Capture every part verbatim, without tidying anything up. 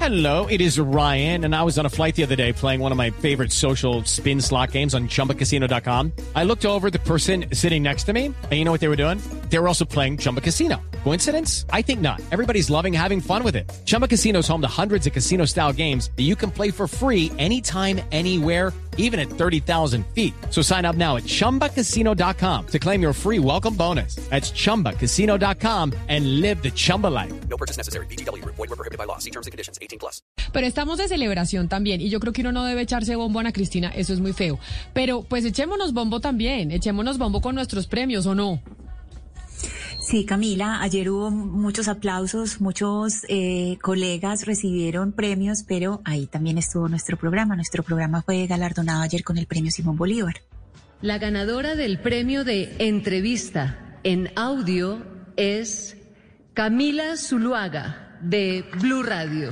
Hello, it is Ryan, and I was on a flight the other day playing one of my favorite social spin slot games on Chumba Casino dot com. I looked over at the person sitting next to me, and you know what they were doing? They were also playing Chumba Casino. Coincidence? I think not. Everybody's loving having fun with it. Chumba Casino is home to hundreds of casino-style games that you can play for free anytime, anywhere, even at thirty thousand feet. So sign up now at Chumba Casino dot com to claim your free welcome bonus. That's Chumba Casino dot com and live the Chumba life. No purchase necessary. V G W. Void where prohibited by law. See terms and conditions. eighteen plus. Pero estamos de celebración también y yo creo que uno no debe echarse bombo a Ana Cristina, eso es muy feo. Pero pues echémonos bombo también, echémonos bombo con nuestros premios, ¿o no? Sí, Camila, ayer hubo muchos aplausos, muchos eh, colegas recibieron premios, pero ahí también estuvo nuestro programa. Nuestro programa fue galardonado ayer con el premio Simón Bolívar. La ganadora del premio de entrevista en audio es Camila Zuluaga, de Blue Radio.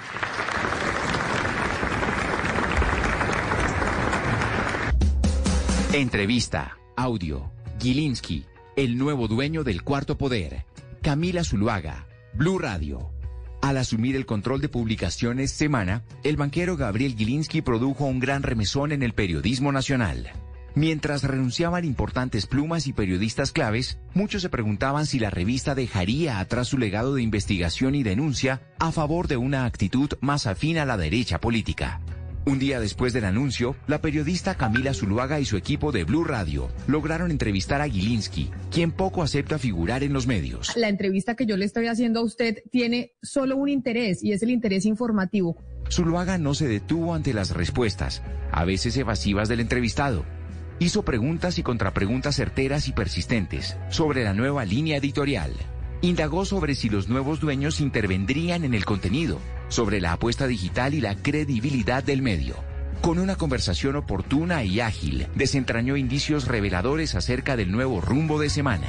Entrevista, audio, Gilinski, el nuevo dueño del Cuarto Poder. Camila Zuluaga, Blue Radio. Al asumir el control de publicaciones Semana, el banquero Gabriel Gilinski produjo un gran remesón en el periodismo nacional. Mientras renunciaban importantes plumas y periodistas claves, muchos se preguntaban si la revista dejaría atrás su legado de investigación y denuncia a favor de una actitud más afín a la derecha política. Un día después del anuncio, la periodista Camila Zuluaga y su equipo de Blue Radio lograron entrevistar a Gilinski, quien poco acepta figurar en los medios. La entrevista que yo le estoy haciendo a usted tiene solo un interés y es el interés informativo. Zuluaga no se detuvo ante las respuestas, a veces evasivas del entrevistado. Hizo preguntas y contrapreguntas certeras y persistentes sobre la nueva línea editorial. Indagó sobre si los nuevos dueños intervendrían en el contenido, sobre la apuesta digital y la credibilidad del medio. Con una conversación oportuna y ágil, desentrañó indicios reveladores acerca del nuevo rumbo de Semana.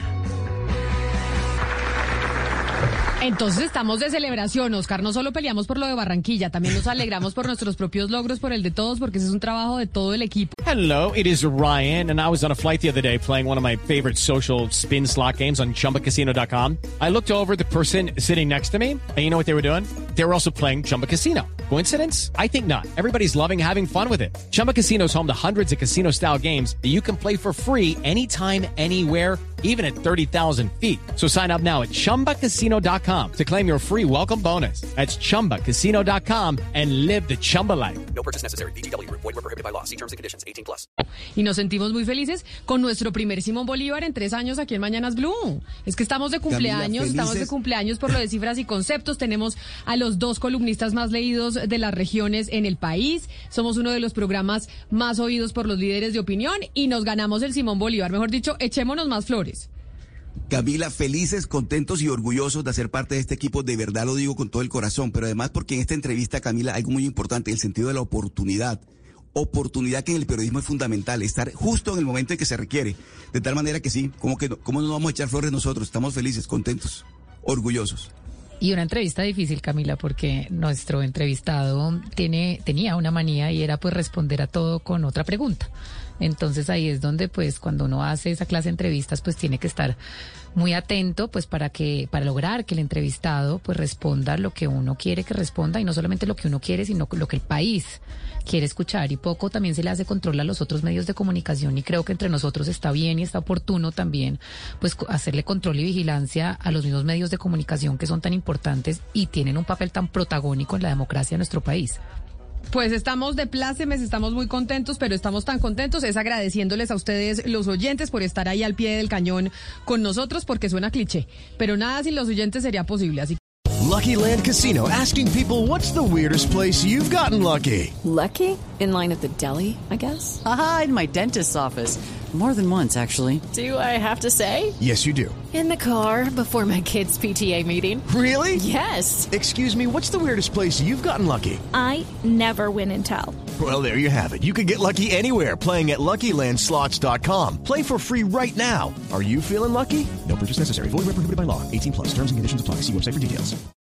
Entonces estamos de celebración, Oscar. No solo peleamos por lo de Barranquilla, también nos alegramos por nuestros propios logros, por el de todos, porque ese es un trabajo de todo el equipo. Hello, it is Ryan, and I was on a flight the other day playing one of my favorite social spin slot games on Chumba Casino dot com. I looked over at the person sitting next to me, and you know what they were doing? They were also playing Chumba Casino. Coincidence? I think not. Everybody's loving having fun with it. Chumba Casino is home to hundreds of casino-style games that you can play for free anytime, anywhere, even at thirty thousand feet. So sign up now at Chumba Casino dot com to claim your free welcome bonus. That's Chumba Casino dot com and live the Chumba life. No purchase necessary. V G W. Void where prohibited by law. See terms and conditions. eighteen plus. Y nos sentimos muy felices con nuestro primer Simón Bolívar en tres años aquí en Mañanas Blue. Es que estamos de cumpleaños, Camila, estamos de cumpleaños por lo de cifras y conceptos. Tenemos a los dos columnistas más leídos de las regiones en el país. Somos uno de los programas más oídos por los líderes de opinión y nos ganamos el Simón Bolívar. Mejor dicho, echémonos más flores. Camila, felices, contentos y orgullosos de hacer parte de este equipo, de verdad lo digo con todo el corazón, pero además porque en esta entrevista, Camila, algo muy importante, el sentido de la oportunidad. Oportunidad que en el periodismo es fundamental, estar justo en el momento en que se requiere, de tal manera que sí, ¿cómo, que no, cómo no nos vamos a echar flores nosotros? Estamos felices, contentos, orgullosos. Y una entrevista difícil, Camila, porque nuestro entrevistado tiene, tenía una manía y era pues responder a todo con otra pregunta. Entonces ahí es donde pues cuando uno hace esa clase de entrevistas pues tiene que estar muy atento pues para que para lograr que el entrevistado pues responda lo que uno quiere que responda y no solamente lo que uno quiere sino lo que el país quiere escuchar, y poco también se le hace control a los otros medios de comunicación, y creo que entre nosotros está bien y está oportuno también pues hacerle control y vigilancia a los mismos medios de comunicación que son tan importantes y tienen un papel tan protagónico en la democracia de nuestro país. Pues estamos de plácemes, estamos muy contentos, pero estamos tan contentos es agradeciéndoles a ustedes, los oyentes, por estar ahí al pie del cañón con nosotros, porque suena cliché, pero nada sin los oyentes sería posible, así que... Lucky Land Casino, asking people, what's the weirdest place you've gotten lucky? Lucky? In line at the deli, I guess? Aha, in my dentist's office. More than once, actually. Do I have to say? Yes, you do. In the car before my kids' P T A meeting. Really? Yes. Excuse me, what's the weirdest place you've gotten lucky? I never win and tell. Well, there you have it. You can get lucky anywhere, playing at Lucky Land Slots dot com. Play for free right now. Are you feeling lucky? No purchase necessary. Void where prohibited by law. eighteen plus. Terms and conditions apply. See website for details.